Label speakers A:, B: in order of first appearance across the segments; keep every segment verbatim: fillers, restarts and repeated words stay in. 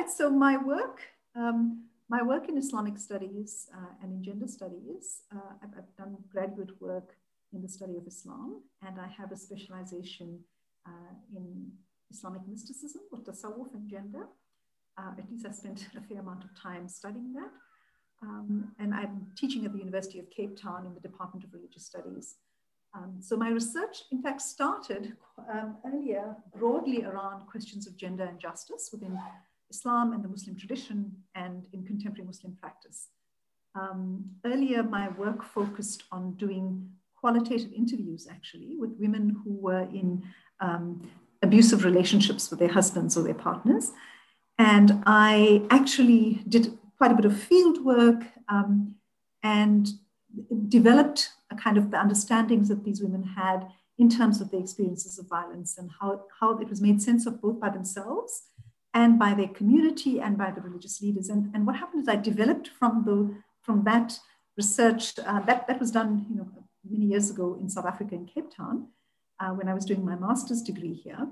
A: right, so my work, um, my work in Islamic studies uh, and in gender studies, uh, I've, I've done graduate work in the study of Islam, and I have a specialization uh, in Islamic mysticism, or tasawwuf and gender. Uh, at least I spent a fair amount of time studying that. Um, and I'm teaching at the University of Cape Town in the Department of Religious Studies. Um, so my research, in fact, started um, earlier broadly around questions of gender and justice within Islam and the Muslim tradition and in contemporary Muslim practice. Um, earlier, my work focused on doing qualitative interviews, actually, with women who were in um, abusive relationships with their husbands or their partners. And I actually did quite a bit of field work um, and developed a kind of the understandings that these women had in terms of their experiences of violence and how, how it was made sense of both by themselves and by their community and by the religious leaders. And, and what happened is I developed from, the, from that research, uh, that, that was done you know, many years ago in South Africa, in Cape Town, uh, when I was doing my master's degree here.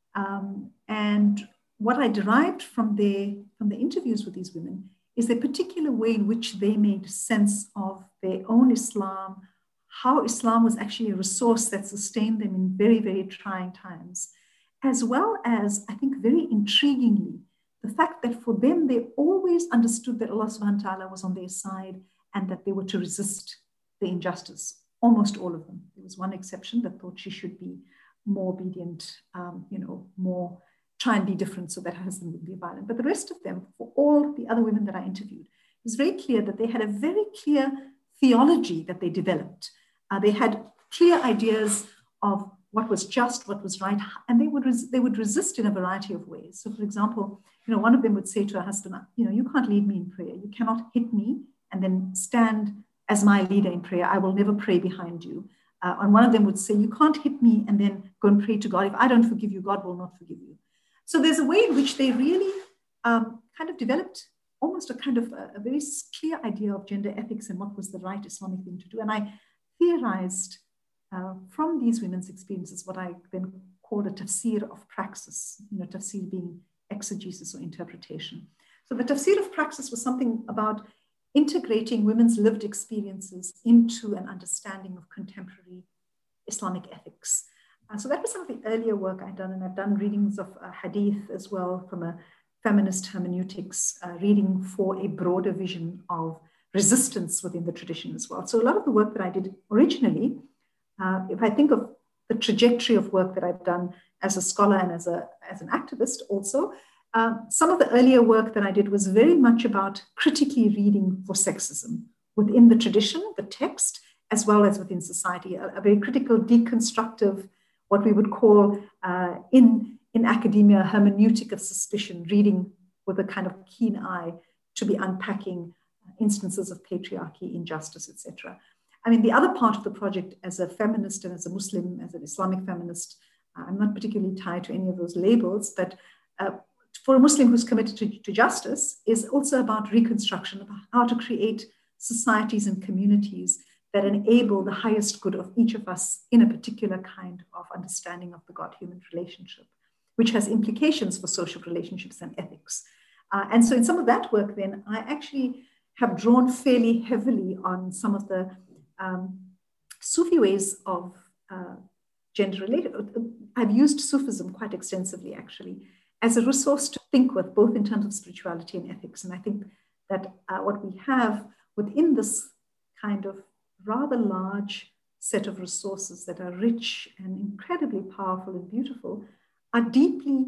A: Um, and what I derived from, their, from the interviews with these women is the particular way in which they made sense of their own Islam, how Islam was actually a resource that sustained them in very, very trying times, as well as, I think very intriguingly, the fact that for them, they always understood that Allah subhanahu wa ta'ala was on their side and that they were to resist the injustice. Almost all of them. There was one exception that thought she should be more obedient, um, you know, more try and be different so that her husband would be violent. But the rest of them, for all the other women that I interviewed, it was very clear that they had a very clear theology that they developed. Uh, they had clear ideas of what was just, what was right, and they would, res- they would resist in a variety of ways. So for example, you know, one of them would say to her husband, you know, you can't lead me in prayer. You cannot hit me and then stand as my leader in prayer. I will never pray behind you. Uh, and one of them would say, you can't hit me and then go and pray to God. If I don't forgive you, God will not forgive you. So there's a way in which they really um, kind of developed almost a kind of a, a very clear idea of gender ethics and what was the right Islamic thing to do. And I theorized uh, from these women's experiences what I then called a tafsir of praxis, you know, tafsir being exegesis or interpretation. So the tafsir of praxis was something about integrating women's lived experiences into an understanding of contemporary Islamic ethics. Uh, so that was some of the earlier work I'd done, and I've done readings of uh, hadith as well from a feminist hermeneutics, uh, reading for a broader vision of resistance within the tradition as well. So a lot of the work that I did originally, uh, if I think of the trajectory of work that I've done as a scholar and as, a, as an activist also, uh, some of the earlier work that I did was very much about critically reading for sexism within the tradition, the text, as well as within society, a, a very critical, deconstructive, what we would call uh, in, in academia, hermeneutic of suspicion, reading with a kind of keen eye to be unpacking instances of patriarchy, injustice, et cetera. I mean, the other part of the project as a feminist and as a Muslim, as an Islamic feminist, uh, I'm not particularly tied to any of those labels, but uh, for a Muslim who's committed to, to justice is also about reconstruction, about how to create societies and communities that enable the highest good of each of us in a particular kind of understanding of the God-human relationship, which has implications for social relationships and ethics. Uh, and so in some of that work then, I actually have drawn fairly heavily on some of the um, Sufi ways of uh, gender related. I've used Sufism quite extensively actually as a resource to think with, both in terms of spirituality and ethics. And I think that uh, what we have within this kind of rather large set of resources that are rich and incredibly powerful and beautiful are deeply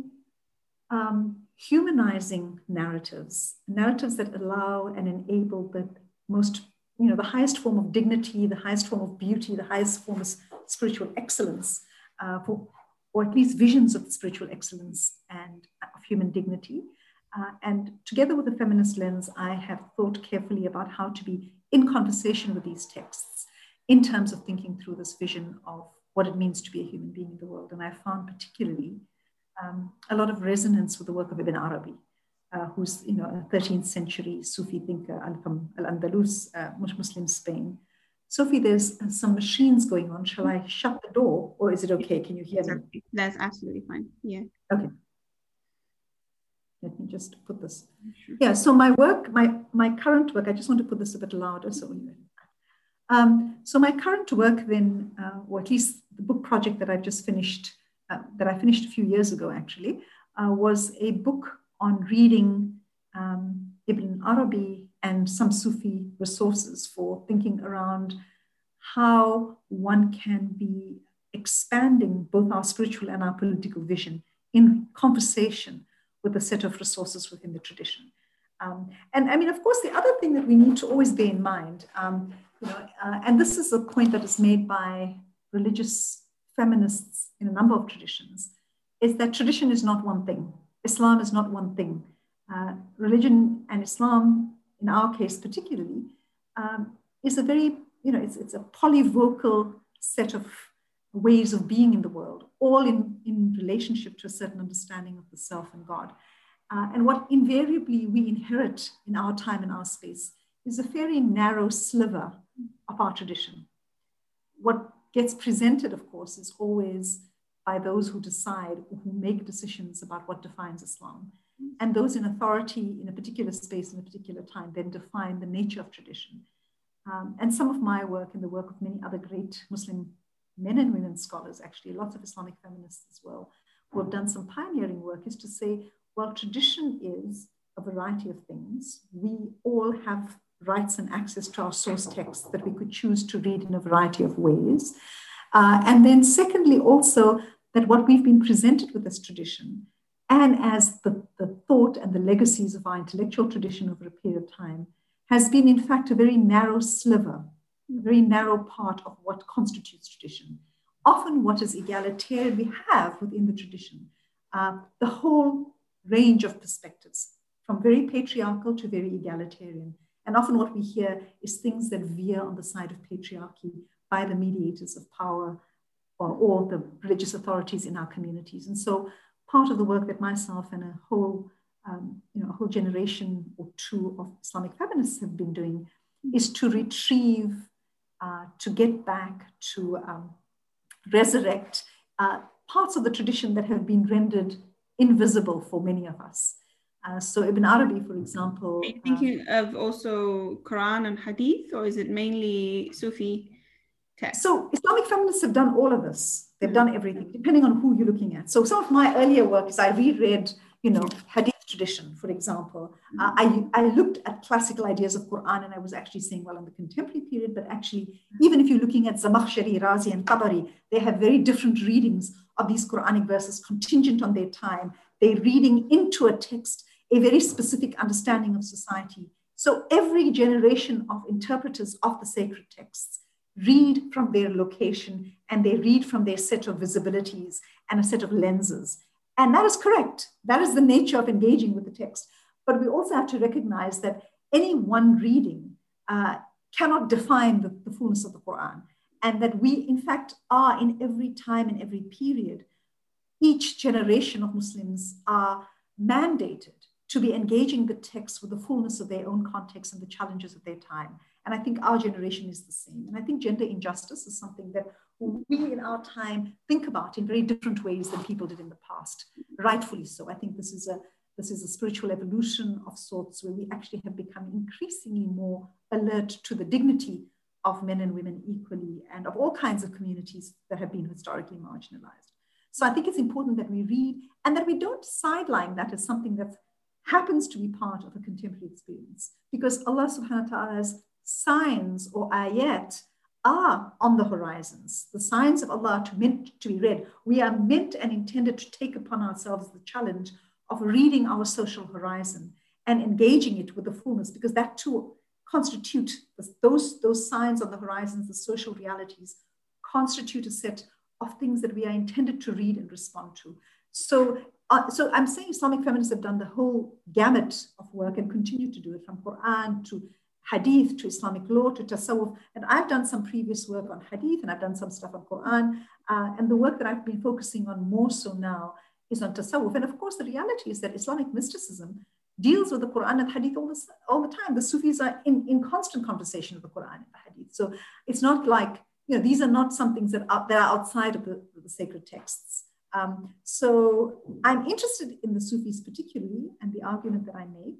A: um, humanizing narratives, narratives that allow and enable the most, you know, the highest form of dignity, the highest form of beauty, the highest form of spiritual excellence, uh, for, or at least visions of spiritual excellence and of human dignity. Uh, and together with the feminist lens, I have thought carefully about how to be in conversation with these texts in terms of thinking through this vision of what it means to be a human being in the world. And I found particularly um, a lot of resonance with the work of Ibn Arabi, uh, who's, you know, a thirteenth century Sufi thinker from Al-Andalus, uh, Muslim Spain. Sophie, there's uh, some machines going on. Shall I shut the door or is it okay? Can you hear me?
B: That's absolutely fine. Yeah.
A: Okay. let me just put this.
B: Sure.
A: Yeah, so my work, my, my current work, I just want to put this a bit louder. So, um, so my current work then, uh, or at least the book project that I've just finished, uh, that I finished a few years ago actually, uh, was a book on reading um, Ibn Arabi and some Sufi resources for thinking around how one can be expanding both our spiritual and our political vision in conversation with a set of resources within the tradition. Um, and I mean, of course, the other thing that we need to always bear in mind, um, you know, uh, and this is a point that is made by religious feminists in a number of traditions, is that tradition is not one thing. Islam is not one thing. Uh, religion and Islam, in our case particularly, um, is a very, you know, it's, it's a polyvocal set of ways of being in the world, all in, in relationship to a certain understanding of the self and God. Uh, and what invariably we inherit in our time and our space is a very narrow sliver of our tradition. What gets presented, of course, is always by those who decide, who make decisions about what defines Islam. And those in authority in a particular space, in a particular time, then define the nature of tradition. Um, and some of my work and the work of many other great Muslim men and women scholars, actually, lots of Islamic feminists as well, who have done some pioneering work, is to say, well, tradition is a variety of things. We all have rights and access to our source texts that we could choose to read in a variety of ways. Uh, and then secondly, also that what we've been presented with as tradition, and as the, the thought and the legacies of our intellectual tradition over a period of time, has been in fact a very narrow sliver, a very narrow part of what constitutes tradition. Often what is egalitarian we have within the tradition, uh, the whole range of perspectives, from very patriarchal to very egalitarian. And often what we hear is things that veer on the side of patriarchy by the mediators of power or, or the religious authorities in our communities. And so part of the work that myself and a whole, um, you know, a whole generation or two of Islamic feminists have been doing is to retrieve, uh, to get back, to um, resurrect uh, parts of the tradition that have been rendered invisible for many of us. Uh, so Ibn Arabi, for example.
B: Are you thinking uh, of also Quran and Hadith, or is it mainly Sufi text?
A: So Islamic feminists have done all of this. They've done everything, depending on who you're looking at. So some of my earlier work is I reread, you know, Hadith tradition, for example. Uh, I, I looked at classical ideas of Quran, and I was actually saying, well, in the contemporary period, but actually, even if you're looking at Zamakhshari, Razi, and Tabari, they have very different readings of these Quranic verses contingent on their time. They're reading into a text a very specific understanding of society. So every generation of interpreters of the sacred texts read from their location, and they read from their set of visibilities and a set of lenses. And that is correct. That is the nature of engaging with the text. But we also have to recognize that any one reading uh, cannot define the, the fullness of the Quran, and that we, in fact, are in every time and every period, each generation of Muslims are mandated to be engaging the text with the fullness of their own context and the challenges of their time. And I think our generation is the same. And I think gender injustice is something that we in our time think about in very different ways than people did in the past, rightfully so. I think this is a, this is a spiritual evolution of sorts where we actually have become increasingly more alert to the dignity of men and women equally and of all kinds of communities that have been historically marginalized. So I think it's important that we read and that we don't sideline that as something that happens to be part of a contemporary experience, because Allah subhanahu wa ta'ala's signs or ayat are on the horizons. The signs of Allah are meant to be read. We are meant and intended to take upon ourselves the challenge of reading our social horizon and engaging it with the fullness, because that too constitute those, those signs on the horizons, the social realities, constitute a set of things that we are intended to read and respond to. So, uh, so I'm saying Islamic feminists have done the whole gamut of work and continue to do it, from Quran to Hadith to Islamic law to Tasawwuf. And I've done some previous work on Hadith, and I've done some stuff on Quran. Uh, and the work that I've been focusing on more so now is on Tasawwuf. And of course, the reality is that Islamic mysticism deals with the Quran and Hadith all, this, all the time. The Sufis are in, in constant conversation with the Quran and the Hadith. So it's not like, you know, these are not some things that are, that are outside of the, the sacred texts. Um, so I'm interested in the Sufis particularly, and the argument that I make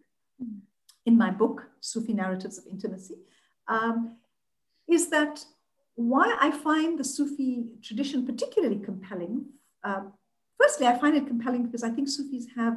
A: in my book, Sufi Narratives of Intimacy, um, is that why I find the Sufi tradition particularly compelling. Uh, firstly, I find it compelling because I think Sufis have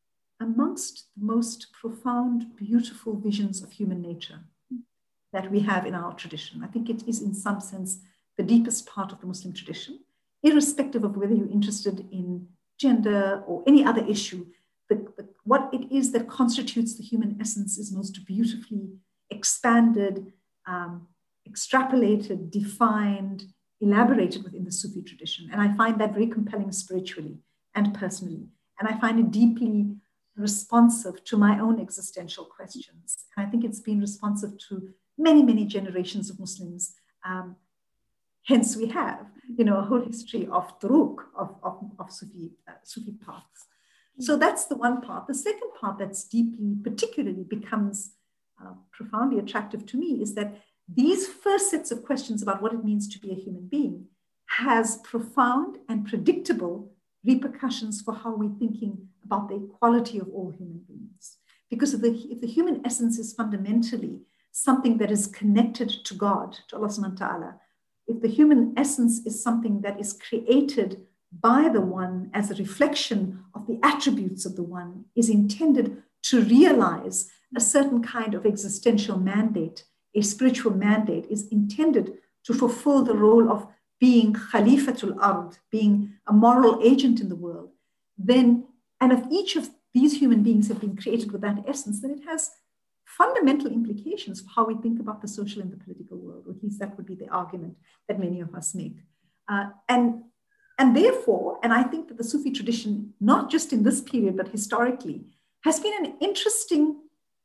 A: amongst the most profound, beautiful visions of human nature that we have in our tradition. I think it is in some sense the deepest part of the Muslim tradition, irrespective of whether you're interested in gender or any other issue. The, the, what it is that constitutes the human essence is most beautifully expanded, um, extrapolated, defined, elaborated within the Sufi tradition. And I find that very compelling spiritually and personally. And I find it deeply responsive to my own existential questions. And I think it's been responsive to many, many generations of Muslims. Um, hence we have, you know, a whole history of turuq, of, of, of Sufi, uh, Sufi paths. So that's the one part. The second part that's deeply, particularly becomes uh, profoundly attractive to me is that these first sets of questions about what it means to be a human being has profound and predictable repercussions for how we're thinking about the equality of all human beings. Because if the, if the human essence is fundamentally something that is connected to God, to Allah subhanahu wa ta'ala, if the human essence is something that is created by the one as a reflection of the attributes of the one, is intended to realize a certain kind of existential mandate, a spiritual mandate, is intended to fulfill the role of being Khalifatul Ard, being a moral agent in the world, then, and if each of these human beings have been created with that essence, then it has fundamental implications for how we think about the social and the political world, or at least that would be the argument that many of us make. Uh, and, and therefore, and I think that the Sufi tradition, not just in this period, but historically, has been an interesting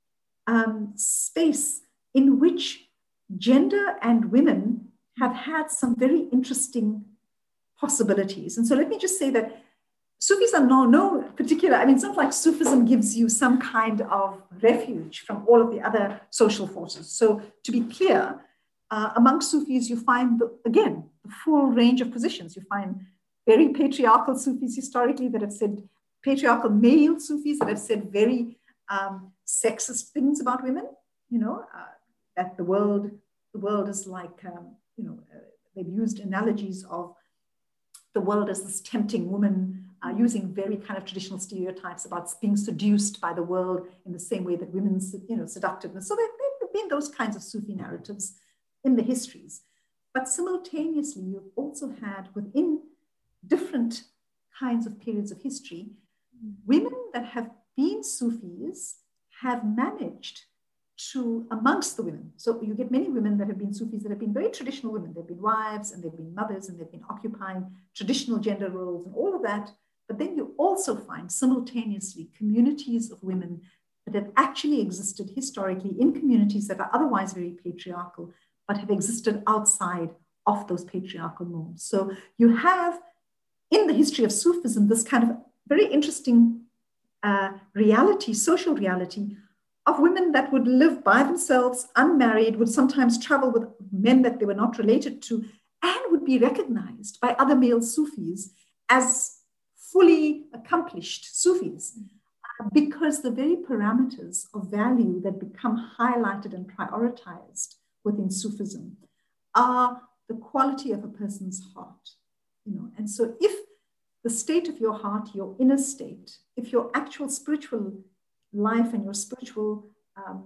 A: um, space in which gender and women have had some very interesting possibilities. And so let me just say that Sufis are no, no particular, I mean, it's not like Sufism gives you some kind of refuge from all of the other social forces. So to be clear, uh, among Sufis, you find, the, again, the full range of positions. You find very patriarchal Sufis historically that have said, patriarchal male Sufis that have said very um, sexist things about women, you know, uh, that the world, the world is like, um, you know, uh, they've used analogies of the world as this tempting woman, uh, using very kind of traditional stereotypes about being seduced by the world in the same way that women's, you know, seductiveness. So there have been those kinds of Sufi narratives in the histories. But simultaneously, you've also had within different kinds of periods of history, women that have been Sufis have managed to, amongst the women, so you get many women that have been Sufis that have been very traditional women. They've been wives and they've been mothers and they've been occupying traditional gender roles and all of that. But then you also find simultaneously communities of women that have actually existed historically in communities that are otherwise very patriarchal, but have existed outside of those patriarchal norms. So you have in the history of Sufism this kind of very interesting uh, reality, social reality, of women that would live by themselves, unmarried, would sometimes travel with men that they were not related to, and would be recognized by other male Sufis as fully accomplished Sufis, uh, because the very parameters of value that become highlighted and prioritized within Sufism are the quality of a person's heart. You know, and so if the state of your heart, your inner state, if your actual spiritual life and your spiritual um,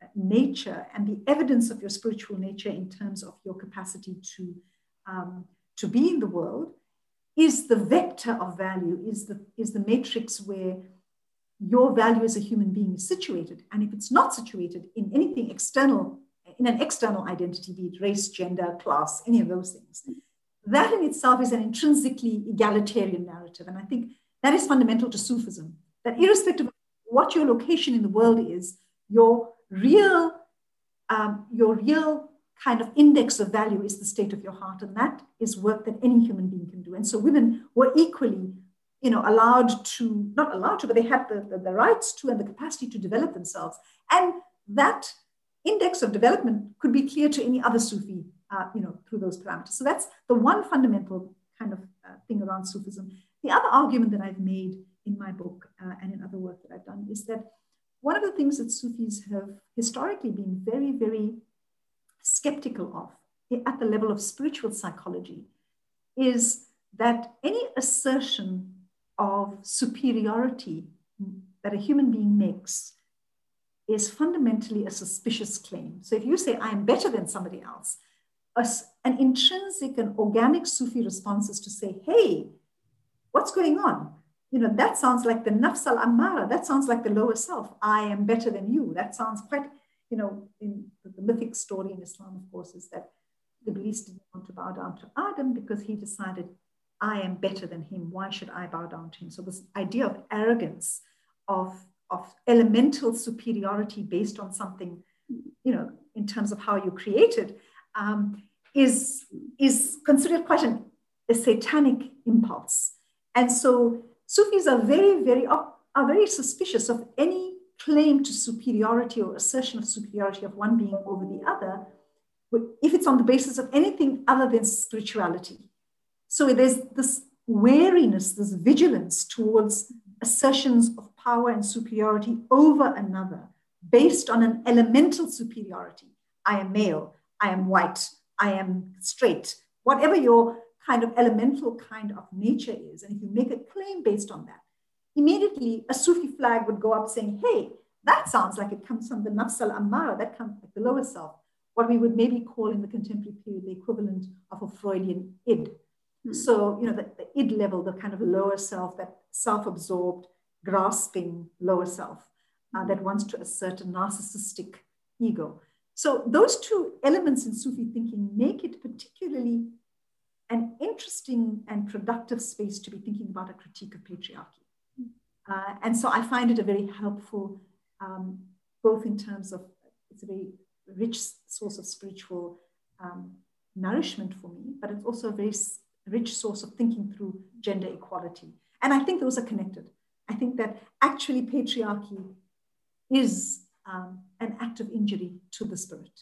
A: nature and the evidence of your spiritual nature in terms of your capacity to, um, to be in the world is the vector of value, is the, is the matrix where your value as a human being is situated. And if it's not situated in anything external, in an external identity, be it race, gender, class, any of those things, that in itself is an intrinsically egalitarian narrative. And I think that is fundamental to Sufism, that irrespective of what your location in the world is, your real, um, your real kind of index of value is the state of your heart. And that is work that any human being can do. And so women were equally, you know, allowed to, not allowed to, but they had the, the, the rights to and the capacity to develop themselves. And that index of development could be clear to any other Sufi, uh, you know, through those parameters. So that's the one fundamental kind of uh, thing around Sufism. the other argument that I've made in my book uh, and in other work that I've done is that one of the things that Sufis have historically been very, very skeptical of at the level of spiritual psychology is that any assertion of superiority that a human being makes is fundamentally a suspicious claim. So if you say, I am better than somebody else, a, an intrinsic and organic Sufi response is to say, hey, what's going on? You know, that sounds like the nafs al-ammara. That sounds like the lower self. I am better than you. That sounds quite, you know, in the mythic story in Islam, of course, is that Iblis didn't want to bow down to Adam because he decided, I am better than him. Why should I bow down to him? So this idea of arrogance, of, of elemental superiority based on something, you know, in terms of how you're created, um, is, is considered quite an, a satanic impulse. And so Sufis are very, very, are very suspicious of any claim to superiority or assertion of superiority of one being over the other, if it's on the basis of anything other than spirituality. So there's this wariness, this vigilance towards assertions of power and superiority over another based on an elemental superiority. I am male, I am white, I am straight, whatever your kind of elemental kind of nature is. And if you make a claim based on that, immediately a Sufi flag would go up saying, hey, that sounds like it comes from the nafs al-ammara, that comes from the lower self, what we would maybe call in the contemporary period the equivalent of a Freudian id. Mm. So, you know, the, the id level, the kind of lower self, that self-absorbed, grasping lower self uh, that wants to assert a narcissistic ego. So those two elements in Sufi thinking make it particularly an interesting and productive space to be thinking about a critique of patriarchy. Uh, and so I find it a very helpful, um, both in terms of, it's a very rich source of spiritual um, nourishment for me, but it's also a very rich source of thinking through gender equality. And I think those are connected. I think that actually patriarchy is um, an act of injury to the spirit.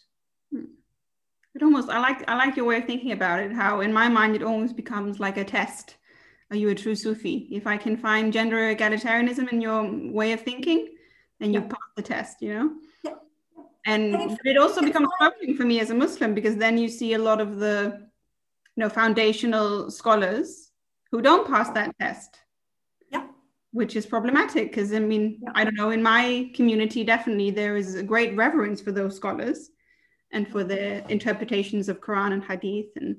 B: It almost, I like, I like your way of thinking about it, how in my mind it almost becomes like a test. Are you a true Sufi? If I can find gender egalitarianism in your way of thinking, then you yeah. pass the test, you know? Yeah. And, and it also becomes troubling for me as a Muslim, because then you see a lot of the, you know, foundational scholars who don't pass that test.
A: Yeah.
B: Which is problematic, because I mean, yeah. I don't know, in my community, definitely there is a great reverence for those scholars and for their interpretations of Quran and Hadith. And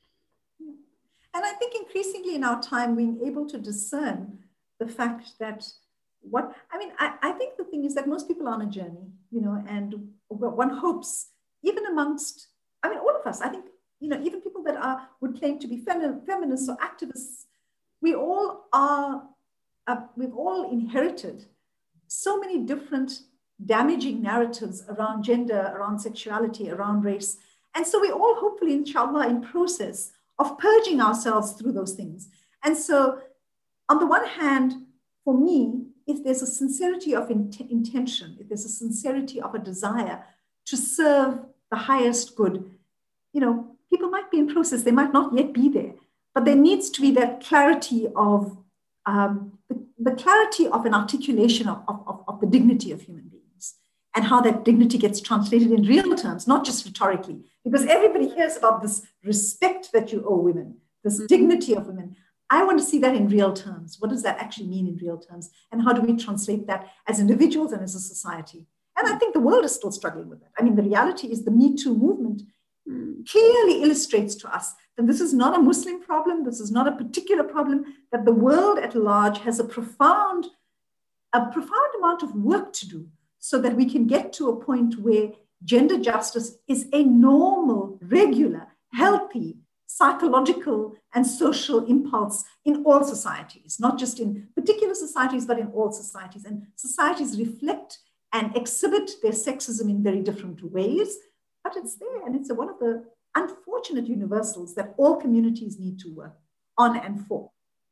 A: and I think increasingly in our time, being able to discern the fact that what, I mean, I, I think the thing is that most people are on a journey, you know, and one hopes, even amongst, I mean, all of us, I think, you know, even people that are, would claim to be fem feminists or activists, we all are, uh, we've all inherited so many different damaging narratives around gender, around sexuality, around race. And so we all hopefully, inshallah, in process of purging ourselves through those things. And so on the one hand, for me, if there's a sincerity of int intention, if there's a sincerity of a desire to serve the highest good, you know, people might be in process, they might not yet be there, but there needs to be that clarity of, um, the, the clarity of an articulation of, of, of the dignity of human beings, and how that dignity gets translated in real terms, not just rhetorically, because everybody hears about this respect that you owe women, this mm-hmm. dignity of women. I want to see that in real terms. What does that actually mean in real terms? And how do we translate that as individuals and as a society? And I think the world is still struggling with that. I mean, the reality is the Me Too movement mm. clearly illustrates to us that this is not a Muslim problem. This is not a particular problem, that the world at large has a profound, a profound amount of work to do so that we can get to a point where gender justice is a normal, regular, healthy, psychological and social impulse in all societies, not just in particular societies, but in all societies. And societies reflect and exhibit their sexism in very different ways, but it's there. And it's one of the unfortunate universals that all communities need to work on and for.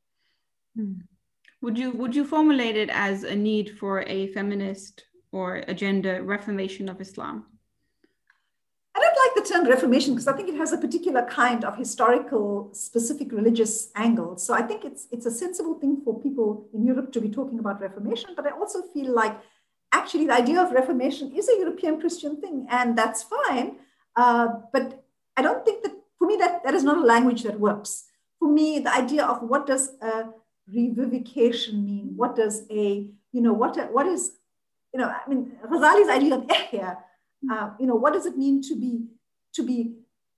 B: Would you, would you formulate it as a need for a feminist or a gender reformation of Islam?
A: I don't like like the term Reformation because I think it has a particular kind of historical, specific religious angle. So I think it's, it's a sensible thing for people in Europe to be talking about Reformation, but I also feel like actually the idea of Reformation is a European Christian thing, and that's fine. Uh, but I don't think that, for me, that, that is not a language that works. For me, the idea of what does a revivification mean? What does a, you know, what, what is, you know, I mean, Ghazali's idea of ihya, uh, you know, what does it mean to be, to be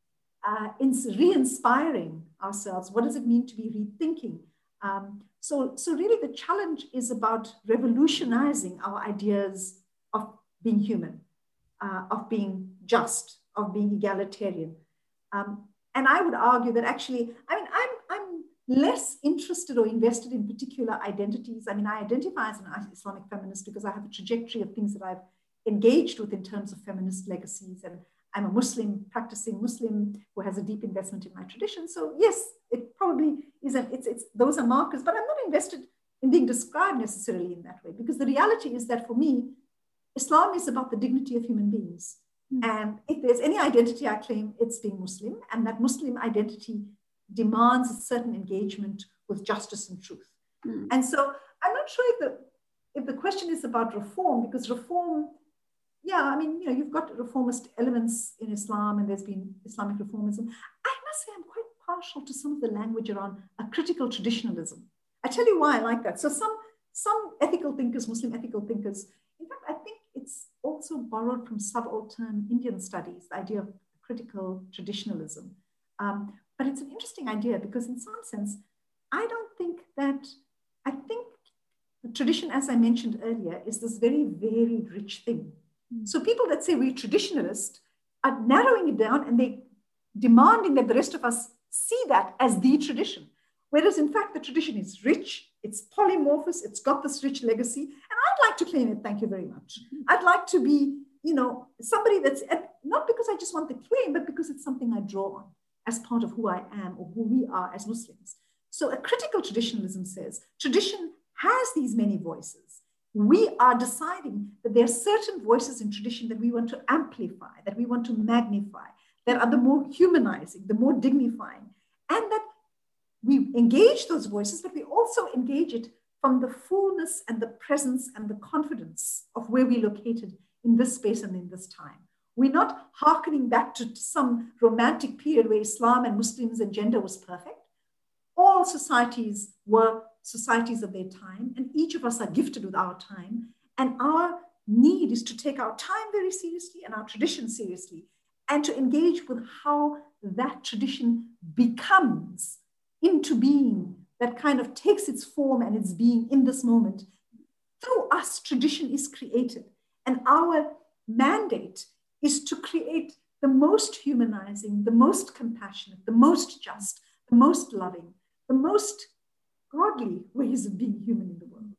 A: uh, re-inspiring ourselves? What does it mean to be rethinking? Um, so, so really the challenge is about revolutionizing our ideas of being human, uh, of being just, of being egalitarian. Um, and I would argue that actually, I mean, I'm, I'm less interested or invested in particular identities. I mean, I identify as an Islamic feminist because I have a trajectory of things that I've engaged with in terms of feminist legacies. And I'm a Muslim, practicing Muslim who has a deep investment in my tradition. So yes, it probably isn't, it's, it's, those are markers, but I'm not invested in being described necessarily in that way, because the reality is that for me, Islam is about the dignity of human beings. Mm. And if there's any identity I claim, it's being Muslim, and that Muslim identity demands a certain engagement with justice and truth. Mm. And so I'm not sure if the, if the question is about reform, because reform, yeah, I mean, you know, you've got reformist elements in Islam, and there's been Islamic reformism. I must say I'm quite partial to some of the language around a critical traditionalism. I tell you why I like that. So some, some ethical thinkers, Muslim ethical thinkers, in fact, I think it's also borrowed from subaltern Indian studies, the idea of critical traditionalism. Um, but it's an interesting idea because in some sense, I don't think that, I think the tradition, as I mentioned earlier, is this very varied, rich thing. Mm. So people that say we're traditionalist are narrowing it down, and they demanding that the rest of us see that as the tradition. Whereas in fact, the tradition is rich, it's polymorphous, it's got this rich legacy. And I'd like to claim it, thank you very much. I'd like to be, you know, somebody that's, not because I just want the claim, but because it's something I draw on as part of who I am or who we are as Muslims. So a critical traditionalism says, tradition has these many voices. We are deciding that there are certain voices in tradition that we want to amplify, that we want to magnify, that are the more humanizing, the more dignifying, and that we engage those voices, but we also engage it from the fullness and the presence and the confidence of where we're located in this space and in this time. We're not hearkening back to some romantic period where Islam and Muslims and gender was perfect. All societies were societies of their time, and each of us are gifted with our time. And our need is to take our time very seriously and our tradition seriously, and to engage with how that tradition becomes into being, that kind of takes its form and its being in this moment. Through us, tradition is created. And our mandate is to create the most humanizing, the most compassionate, the most just, the most loving, the most godly ways of being human in the world.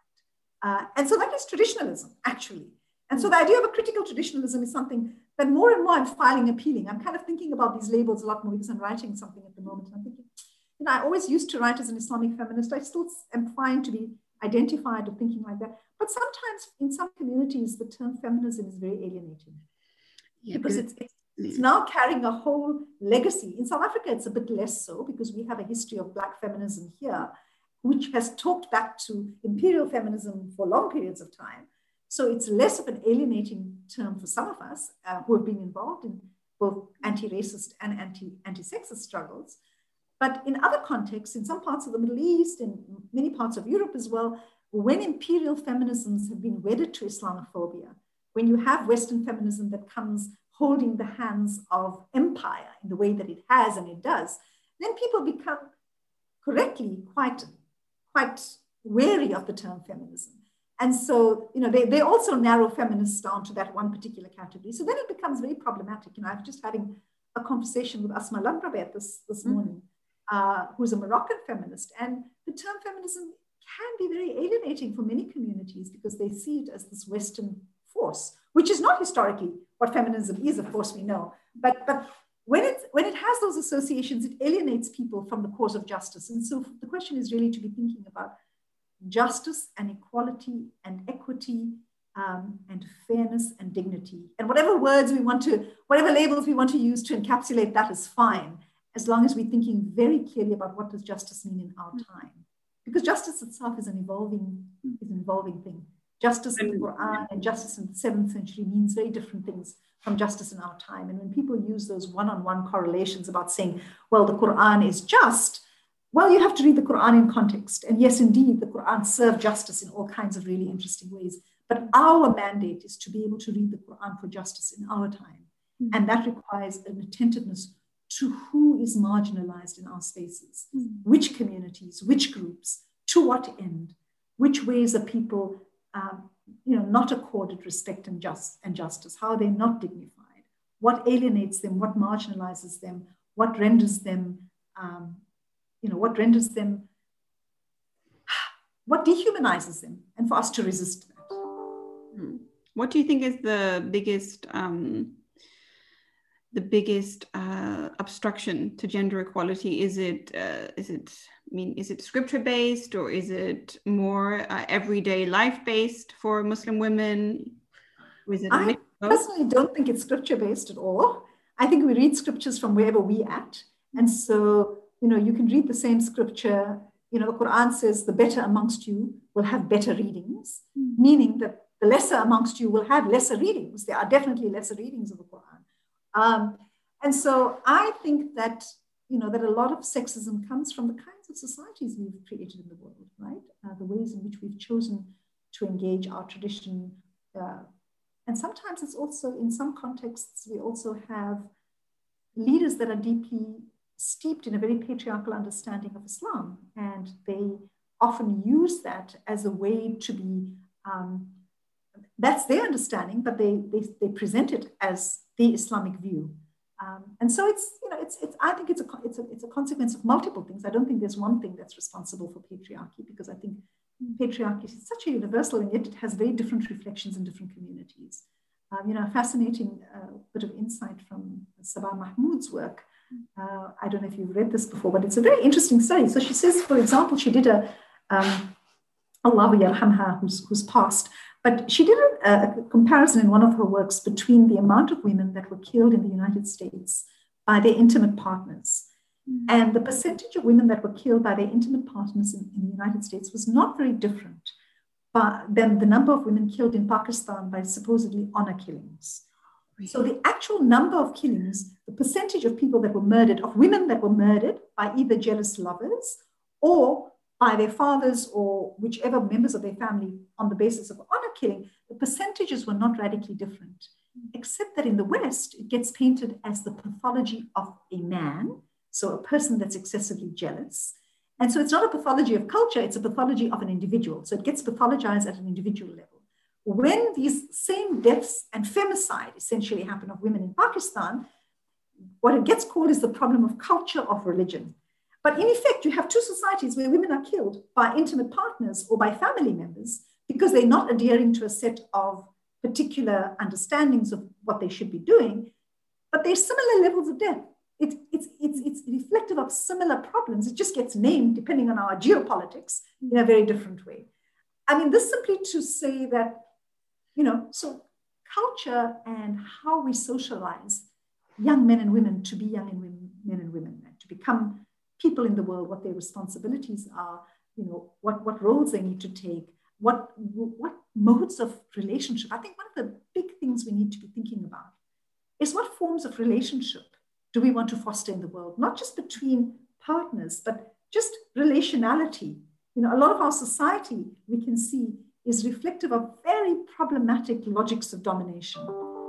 A: Uh, and so that is traditionalism, actually. And so the idea of a critical traditionalism is something that more and more I'm finding appealing. I'm kind of thinking about these labels a lot more because I'm writing something at the moment. And I'm thinking, you know, I always used to write as an Islamic feminist. I still am fine to be identified or thinking like that. But sometimes in some communities, the term feminism is very alienating. Yeah, because it's, it's, it's now carrying a whole legacy. In South Africa, it's a bit less so because we have a history of Black feminism here, which has talked back to imperial feminism for long periods of time. So it's less of an alienating term for some of us uh, who have been involved in both anti-racist and anti, anti-sexist struggles. But in other contexts, in some parts of the Middle East, in many parts of Europe as well, when imperial feminisms have been wedded to Islamophobia, when you have Western feminism that comes holding the hands of empire in the way that it has and it does, then people become correctly quite, quite wary of the term feminism. And so, you know, they, they also narrow feminists down to that one particular category. So then it becomes very problematic. You know, I was just having a conversation with Asma Lamrabet this, this mm-hmm. morning, uh, who's a Moroccan feminist. And the term feminism can be very alienating for many communities because they see it as this Western force, which is not historically what feminism is, of course we know. But, but when, it, when it has those associations, it alienates people from the cause of justice. And so the question is really to be thinking about justice and equality and equity um, and fairness and dignity. And whatever words we want to, whatever labels we want to use to encapsulate that is fine, as long as we're thinking very clearly about what does justice mean in our time. Because justice itself is an evolving, is an evolving thing. Justice in the Quran and justice in the seventh century means very different things from justice in our time. And when people use those one-on-one correlations about saying, well, the Quran is just, well, you have to read the Quran in context. And yes, indeed, the Quran serves justice in all kinds of really interesting ways. But our mandate is to be able to read the Quran for justice in our time. Mm-hmm. And that requires an attentiveness to who is marginalized in our spaces, mm-hmm. which communities, which groups, to what end, which ways are people um, you know, not accorded respect and, just, and justice, how are they not dignified, what alienates them, what marginalizes them, what renders them, um, you know, what renders them, what dehumanizes them, and for us to resist that.
B: What do you think is the biggest, um, the biggest uh, obstruction to gender equality? Is it, uh, is it, I mean, is it scripture based, or is it more uh, everyday life based for Muslim women? Or is it a mix
A: I personally don't think it's scripture based at all. I think we read scriptures from wherever we at, and so you know you can read the same scripture. You know, the Quran says the better amongst you will have better readings, mm. meaning that the lesser amongst you will have lesser readings. There are definitely lesser readings of the Quran. Um, and so I think that, you know, that a lot of sexism comes from the kinds of societies we've created in the world, right? Uh, the ways in which we've chosen to engage our tradition. Uh, and sometimes it's also, in some contexts, we also have leaders that are deeply steeped in a very patriarchal understanding of Islam. And they often use that as a way to be, um, that's their understanding, but they, they, they present it as the Islamic view. Um, and so it's, you know, it's, it's, I think it's a, it's, a, it's a consequence of multiple things. I don't think there's one thing that's responsible for patriarchy, because I think patriarchy is such a universal, and yet it has very different reflections in different communities. Um, you know, a fascinating uh, bit of insight from Sabah Mahmood's work. Uh, I don't know if you've read this before, but it's a very interesting study. So she says, for example, she did a, um, Allahu yarhamha, who's, who's passed, but she did a, a comparison in one of her works between the amount of women that were killed in the United States by their intimate partners. Mm-hmm. And the percentage of women that were killed by their intimate partners in, in the United States was not very different but than the number of women killed in Pakistan by supposedly honor killings. Really? So the actual number of killings, the percentage of people that were murdered, of women that were murdered by either jealous lovers or by their fathers or whichever members of their family on the basis of honor killing, the percentages were not radically different, except that in the West, it gets painted as the pathology of a man, so a person that's excessively jealous. And so it's not a pathology of culture, it's a pathology of an individual. So it gets pathologized at an individual level. When these same deaths and femicide essentially happen of women in Pakistan, what it gets called is the problem of culture of religion. But in effect, you have two societies where women are killed by intimate partners or by family members because they're not adhering to a set of particular understandings of what they should be doing, but there's similar levels of death. It, it's, it's, it's reflective of similar problems. It just gets named depending on our geopolitics in a very different way. I mean, this simply to say that, you know, so culture and how we socialize young men and women to be young and women, men and women, and to become people in the world, what their responsibilities are, you know, what, what roles they need to take, what, what modes of relationship. I think one of the big things we need to be thinking about is what forms of relationship do we want to foster in the world, not just between partners, but just relationality. You know, a lot of our society, we can see, is reflective of very problematic logics of domination.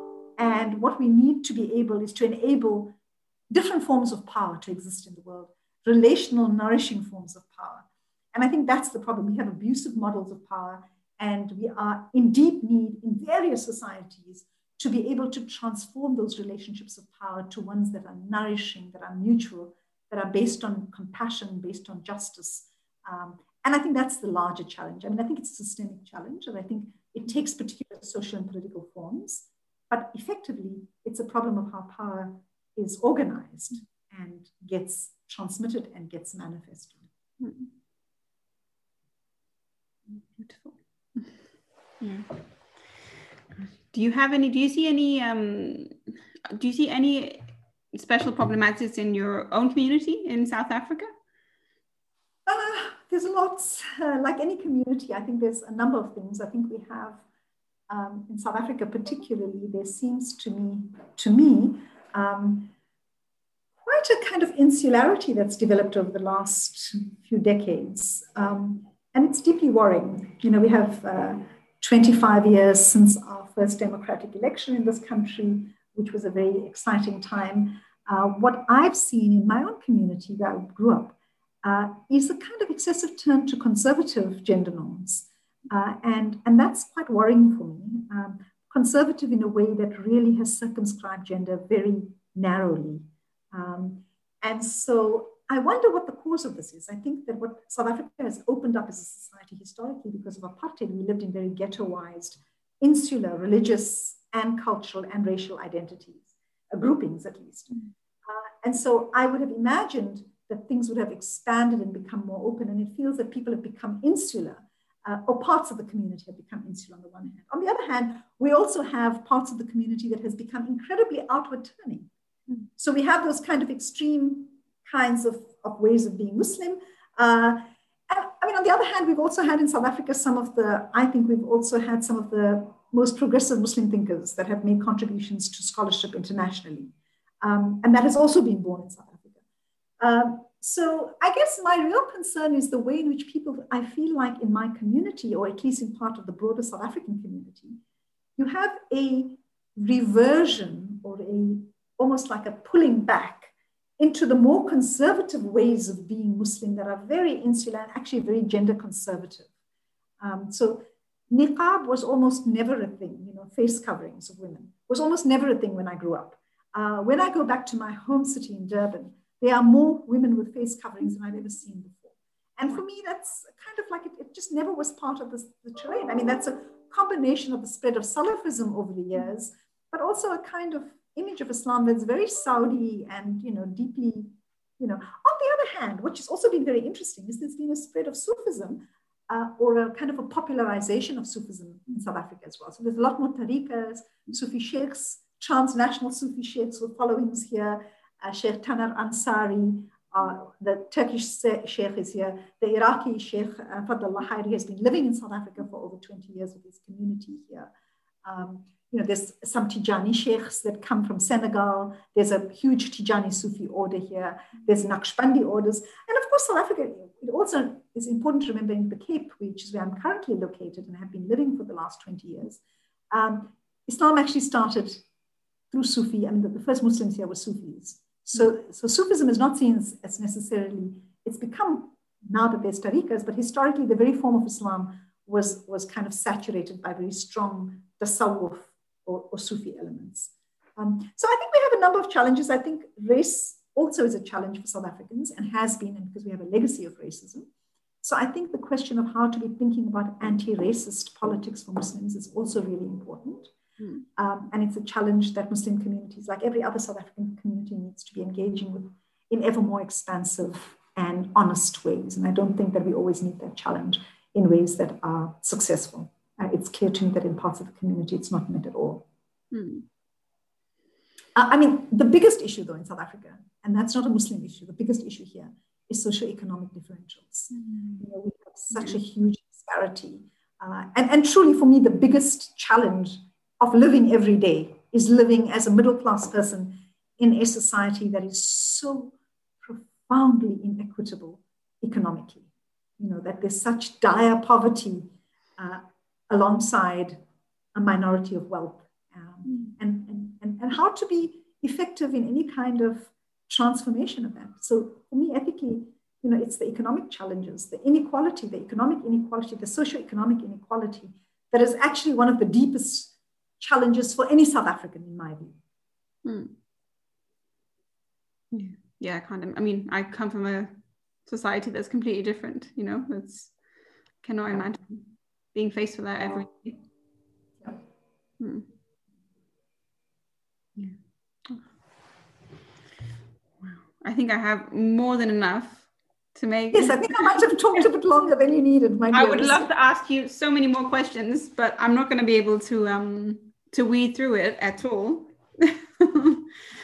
A: And what we need to be able is to enable different forms of power to exist in the world, relational, nourishing forms of power. And I think that's the problem. We have abusive models of power, and we are in deep need in various societies to be able to transform those relationships of power to ones that are nourishing, that are mutual, that are based on compassion, based on justice. Um, and I think that's the larger challenge. I mean, I think it's a systemic challenge, and I think it takes particular social and political forms, but effectively, it's a problem of how power is organized and gets transmitted and gets manifested.
B: Beautiful. Yeah. do you have any, do you see any, um, do you see any special problematics in your own community in South Africa?
A: Uh, there's lots, uh, like any community, I think there's a number of things. I think we have, um, in South Africa particularly, there seems to me, to me, um, quite a kind of insularity that's developed over the last few decades. Um, and it's deeply worrying. You know, we have uh, twenty-five years since our first democratic election in this country, which was a very exciting time. Uh, what I've seen in my own community where I grew up uh, is a kind of excessive turn to conservative gender norms. Uh, and, and that's quite worrying for me. Um, conservative in a way that really has circumscribed gender very narrowly. Um, and so I wonder what the cause of this is. I think that what South Africa has opened up as a society historically because of apartheid, we lived in very ghettoized, insular, religious and cultural and racial identities, uh, groupings at least. Mm. Uh, and so I would have imagined that things would have expanded and become more open. And it feels that people have become insular, uh, or parts of the community have become insular on the one hand. On the other hand, we also have parts of the community that has become incredibly outward turning. Mm. So we have those kind of extreme kinds of, of ways of being Muslim. Uh, and, I mean, on the other hand, we've also had in South Africa some of the, I think we've also had some of the most progressive Muslim thinkers that have made contributions to scholarship internationally. Um, and that has also been born in South Africa. Um, so I guess my real concern is the way in which people, I feel like in my community, or at least in part of the broader South African community, you have a reversion or a almost like a pulling back into the more conservative ways of being Muslim that are very insular and actually very gender conservative. Um, so niqab was almost never a thing, you know, face coverings of women was almost never a thing when I grew up. Uh, when I go back to my home city in Durban, there are more women with face coverings than I've ever seen before. And for me, that's kind of like, it, it just never was part of the, the terrain. I mean, that's a combination of the spread of Salafism over the years, but also a kind of image of Islam that's very Saudi and, you know, deeply, you know. On the other hand, which has also been very interesting, is there's been a spread of Sufism uh, or a kind of a popularization of Sufism in South Africa as well. So there's a lot more tariqas, Sufi sheikhs, transnational Sufi sheikhs with followings here. Uh, Sheikh Taner Ansari, uh, the Turkish sheikh is here. The Iraqi sheikh, uh, Fadlullah Hayri, has been living in South Africa for over twenty years with his community here. Um, You know, there's some Tijani sheikhs that come from Senegal. There's a huge Tijani Sufi order here. There's Naqshbandi orders. And of course, South Africa, it also is important to remember in the Cape, which is where I'm currently located and have been living for the last twenty years. Um, Islam actually started through Sufi. I mean, the, the first Muslims here were Sufis. So, so Sufism is not seen as, as necessarily, it's become now that there's tariqas, but historically the very form of Islam was, was kind of saturated by very strong tasawwuf or, or Sufi elements. Um, so I think we have a number of challenges. I think race also is a challenge for South Africans and has been, and because we have a legacy of racism. So I think the question of how to be thinking about anti-racist politics for Muslims is also really important. Mm. Um, and it's a challenge that Muslim communities, like every other South African community, needs to be engaging with in ever more expansive and honest ways. And I don't think that we always meet that challenge in ways that are successful. Uh, it's clear to me that in parts of the community, it's not met at all. Mm. Uh, I mean, the biggest issue, though, in South Africa, and that's not a Muslim issue, the biggest issue here is socioeconomic differentials. Mm. You know, we have such mm. a huge disparity. Uh, and, and truly, for me, the biggest challenge of living every day is living as a middle-class person in a society that is so profoundly inequitable economically. You know, that there's such dire poverty uh, alongside a minority of wealth, um, mm. and, and, and, and how to be effective in any kind of transformation of that. So for me, ethically, you know, it's the economic challenges, the inequality, the economic inequality, the socioeconomic inequality that is actually one of the deepest challenges for any South African, in my view.
B: Mm. Yeah, yeah, kind of. I mean, I come from a society that's completely different, you know, that's, cannot imagine being faced with that every day. Yeah. Hmm. Yeah. Oh. Wow. I think I have more than enough to make.
A: Yes, I think I might have talked a bit longer than you needed, my dear.
B: I would love to ask you so many more questions, but I'm not going to be able to um to weed through it at all.